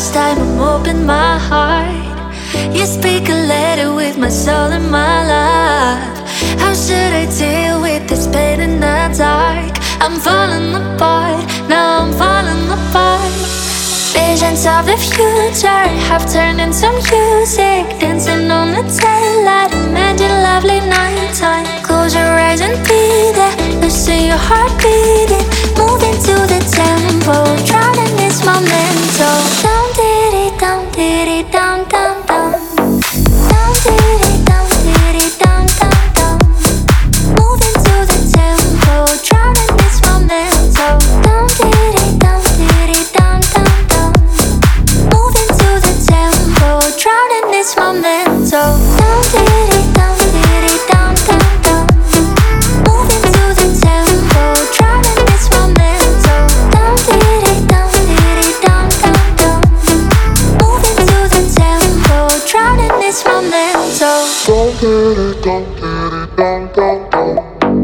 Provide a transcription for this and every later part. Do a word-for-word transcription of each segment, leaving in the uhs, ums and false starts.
last time I'm open my heart. You speak a letter with my soul and my life. How should I deal with this pain in the dark? I'm falling apart, now I'm falling apart. Visions of the future have turned into music, dancing on the taillight, imagine lovely nighttime. Close your eyes and be there, listen your heart beating, moving to the tempo, drowning this momento. Down diddy, down diddy, down down down. Down diddy, down diddy, down down down. Moving to the tempo, drowning this momento. Down diddy, down diddy, down down down. Moving to the tempo, drowning this momento. Down diddy, down diddy, down down down. Moving to the tempo, drowning this momento. Down diddy, down diddy, down down down. Moving to the tempo, drowning this momento. Down diddy, down diddy, down down down.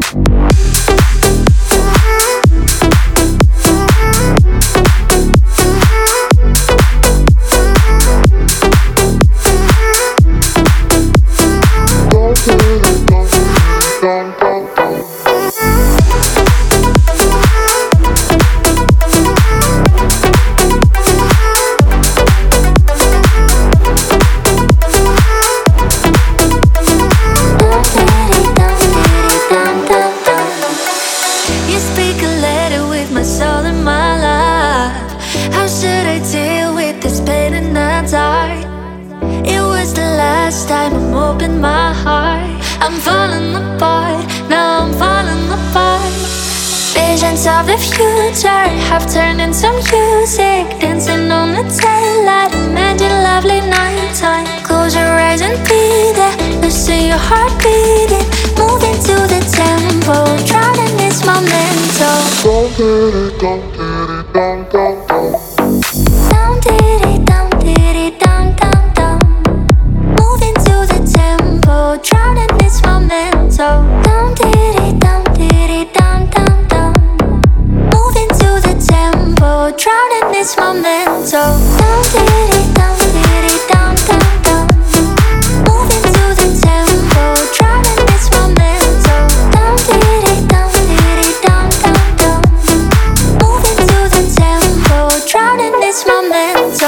You speak a letter with my soul and my life. How should I deal with this pain in the dark? It was the last time I'm open my heart. I'm falling apart, now I'm falling apart. Visions of the future have turned into music, dancing on the taillight, imagine lovely nighttime. Close your eyes and be there, listen your heart beating, moving to the tempo, drowning this momento. Down diddy, down diddy, down down down. Down diddy, down diddy, down down down. Moving to the tempo, drowning this momento. Down diddy, down diddy, down down down. Moving to the tempo, drowning this momento. Down diddy, down diddy, down down down. Moving to the tempo, drowning this momento. Down diddy, down diddy, down down down. Moving to the tempo, drowning this momento.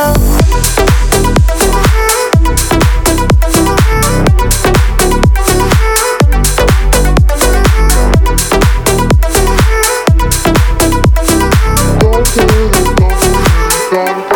Down diddy, down diddy, down.